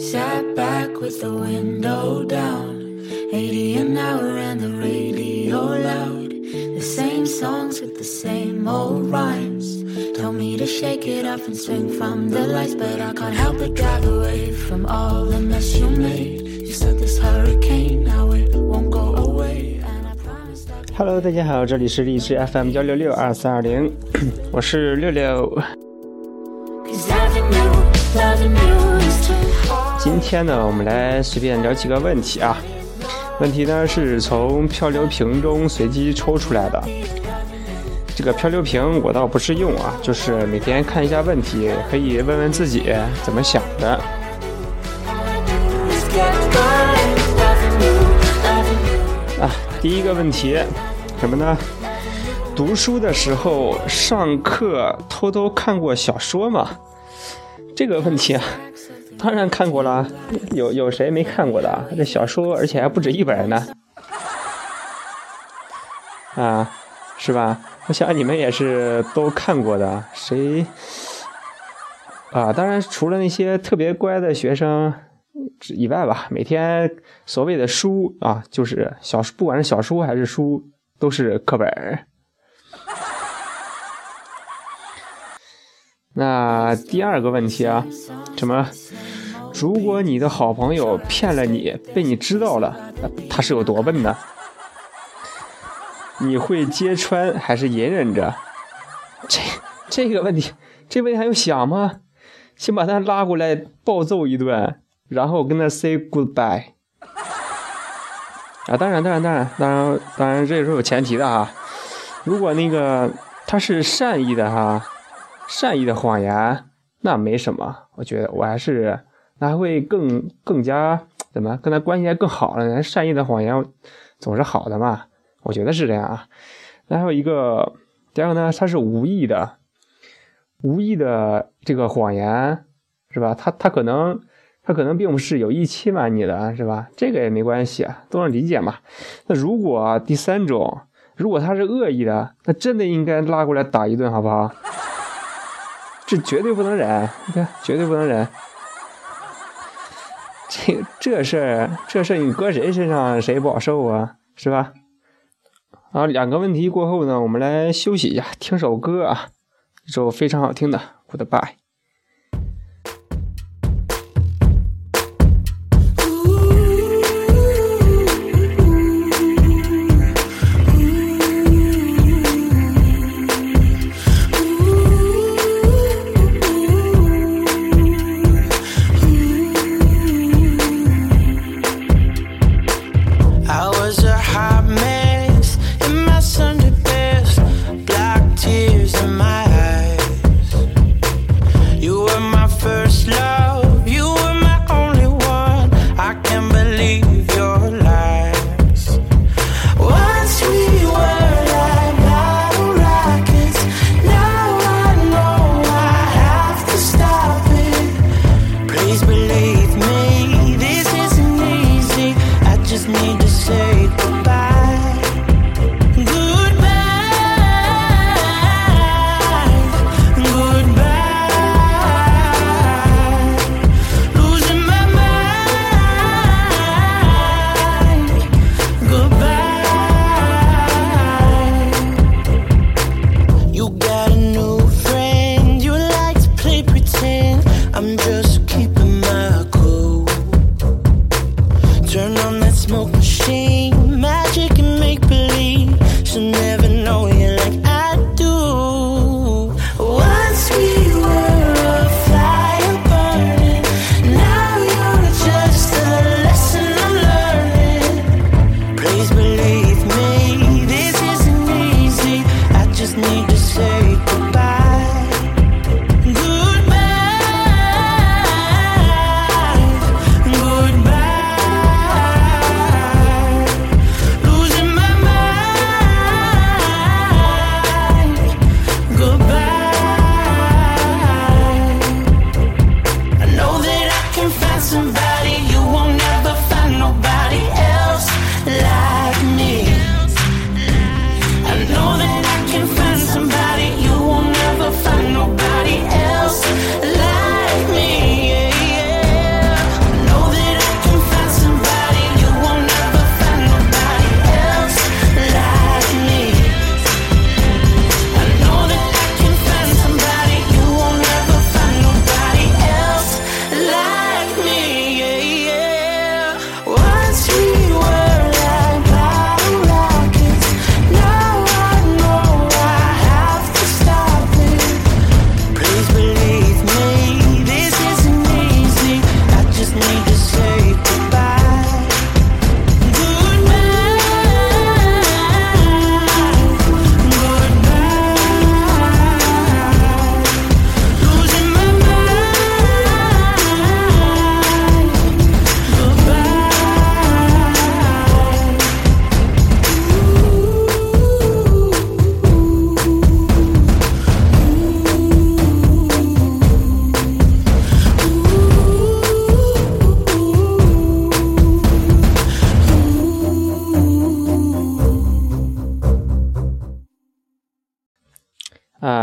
Sat back with the window down, 80 an hour and the radio loud. The same songs with the same old rhymes. Told me to shake it off and swing from the lights, but I can't help but drive away from all the mess you made. You said this hurricane, now it won't go away. And I promised I'd... Hello， 大家好，这里是荔枝 FM 1662320，我是六六。今天呢，我们来随便聊几个问题啊。问题呢是从漂流瓶中随机抽出来的。这个漂流瓶我倒不是用啊，就是每天看一下问题，可以问问自己怎么想的。第一个问题什么呢？读书的时候上课偷偷看过小说吗？这个问题啊，当然看过了，有谁没看过的？这小说而且还不止一本呢，啊，是吧？我想你们也是都看过的，谁啊？当然除了那些特别乖的学生以外吧，每天所谓的书啊，就是不管是小说还是书，都是课本。那第二个问题啊，什么？如果你的好朋友骗了你，被你知道了，他是有多笨呢？你会揭穿还是隐忍着？这个问题，这问题还用想吗？先把他拉过来暴揍一顿，然后跟他 say goodbye。啊，当然，这是有前提的哈。如果那个他是善意的哈。善意的谎言那没什么，我觉得我还是那还会更加怎么跟他关系还更好了呢？善意的谎言总是好的嘛，我觉得是这样啊。然后第二个呢，他是无意的这个谎言是吧？他可能并不是有意欺瞒你的是吧？这个也没关系啊，都能理解嘛。那如果第三种，如果他是恶意的，那真的应该拉过来打一顿，好不好？这绝对不能忍，绝对不能忍。这事儿你搁谁身上谁不好受啊，是吧？好，两个问题过后呢，我们来休息一下，听首歌啊，一首非常好听的 Goodbye。 I'm just keeping my cool.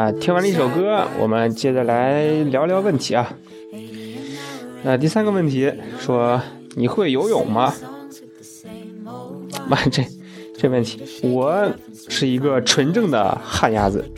那听完了一首歌，我们接着来聊聊问题啊。那第3个问题说，你会游泳吗？妈，这问题，我是一个纯正的旱鸭子。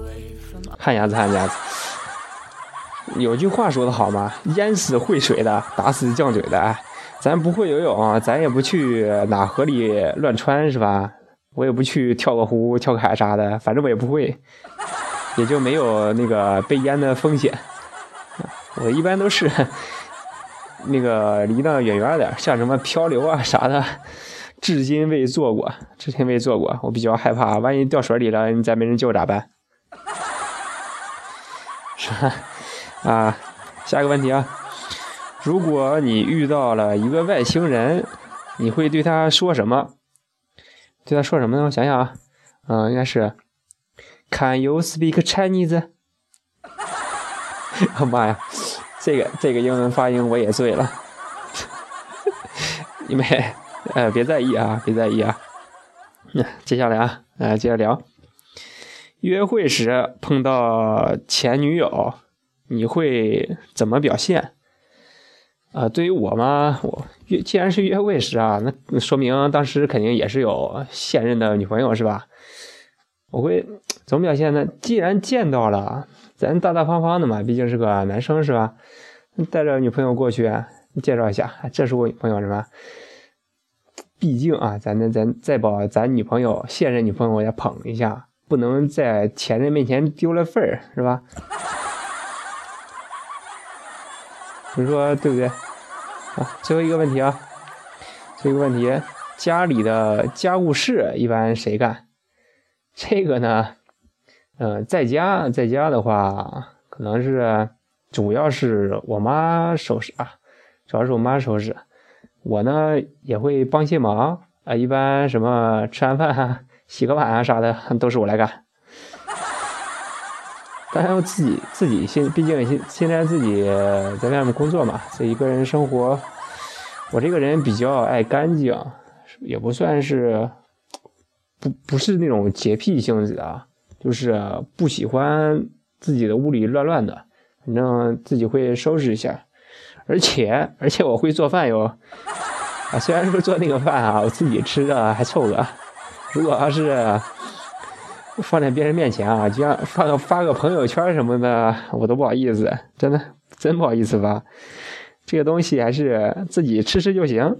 有句话说得好嘛，淹死会水的，打死犟嘴的。咱不会游泳，咱也不去哪河里乱穿，是吧？我也不去跳个湖、跳个海啥的，反正我也不会，也就没有那个被淹的风险。我一般都是那个离得远远的，像什么漂流啊啥的，至今未做过。我比较害怕，万一掉水里了，你再没人救咋办？是吧？啊，下一个问题啊，如果你遇到了一个外星人，你会对他说什么？对他说什么呢？我想想啊，应该是 Can you speak Chinese？ 哦妈呀，这个英文发音我也醉了。因为别在意啊。接下来啊，接着聊。约会时碰到前女友，你会怎么表现？对于我嘛，既然是约会时啊，那说明当时肯定也是有现任的女朋友，是吧？我会怎么表现呢？既然见到了，咱大大方方的嘛，毕竟是个男生，是吧？带着女朋友过去介绍一下，这是我女朋友，是吧？毕竟啊，咱再把咱女朋友、现任女朋友也捧一下，不能在前任面前丢了份儿，是吧？你说对不对？最后一个问题，家里的家务事一般谁干？这个呢，在家的话，可能是主要是我妈收拾啊，我呢也会帮些忙啊，一般什么吃完饭洗个碗啥的都是我来干。当然我自己毕竟现在自己在外面工作嘛，自己一个人生活，我这个人比较爱干净，也不算是不是那种洁癖性质的，就是不喜欢自己的屋里乱乱的，反正自己会收拾一下。而且我会做饭哟，虽然说做那个饭我自己吃着还凑合，如果要是放在别人面前就像发个朋友圈什么的，我都不好意思，真不好意思吧。这个东西还是自己吃就行。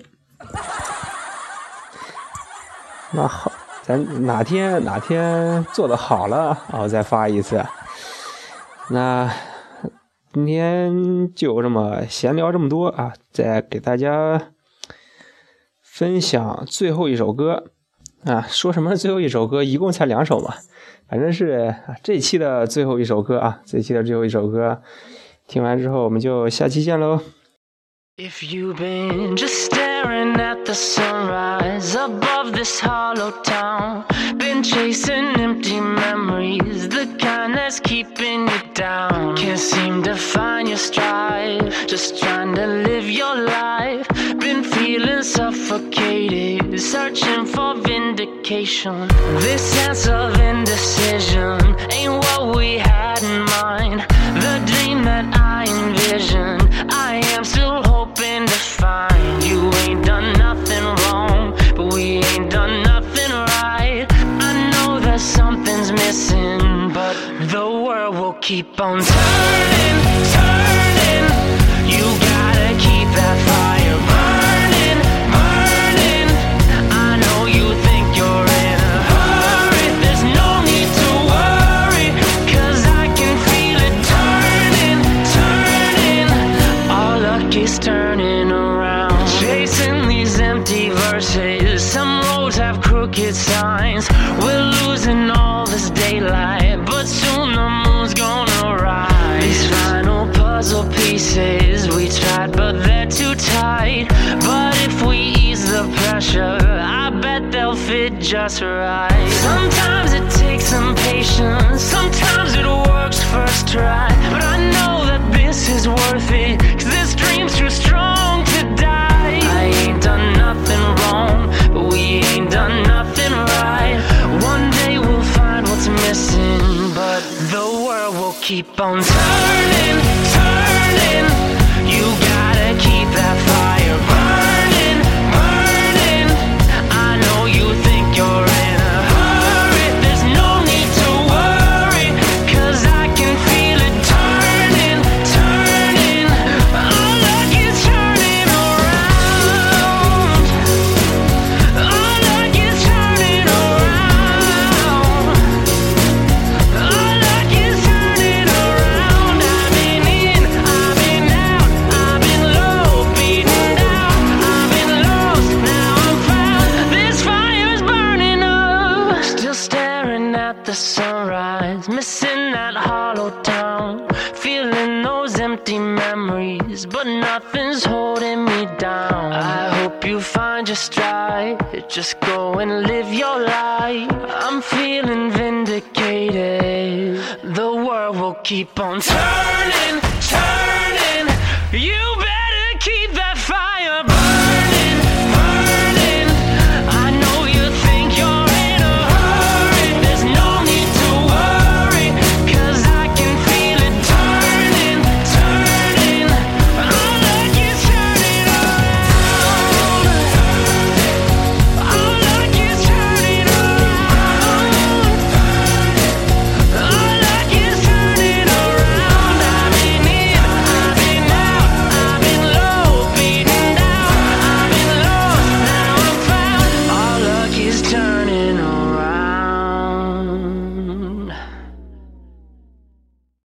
那好，咱哪天做的好了我再发一次。那今天就这么闲聊这么多再给大家分享最后一首歌。说什么最后一首歌，一共才2首嘛，反正是这期的最后一首歌听完之后我们就下期见喽。 If you've been just staring at the sunrise above this hollow town, been chasing empty memories, the kind that's keeping you down, can't seem to find your stride, just trying to live your life, been feeling suffocated, searching for vindication, this sense of indecision ain't what we had in mind, the dream that I envisioned, I am still hoping to find. You ain't done nothing wrong, but we ain't done nothing right. I know that something's missing, but the world will keep on turning. You gotta keep that fire burning. I know you think you're in a hurry, there's no need to worry, 'cause I can feel it turning. Our luck is turning around, chasing these empty verses, some roads have crooked signs, we're losing all this daylight, but soon the moon's gonna rise. These final puzzle pieces, we tried but they're too tight, but if we ease the pressure, I bet they'll fit just right. Sometimes it takes some patience, sometimes it works first try, but I know that this is worth it, 'cause this dream's too strong to die. I ain't done nothing wrong, but we ain't done nothing right. One day we'll find what's missing, but the world keep on turning, turning. You gotta keep that fire burning, burning. I know you think you're in a hurry. There's no need to worry, 'cause I can feel it turning, turning. All of you turning around. All of you turning around. All of you turning around. I've been in, I've been out, I've been low, beaten down, I've been lost, now I'm found. This fire's burning up. Still staring at the sunrise, missing that hollow town, feeling those empty memories, but nothing's holding me down. I hope you find your stride, just go and live your life. I'm feeling vindicated, the world will keep on turning, turning.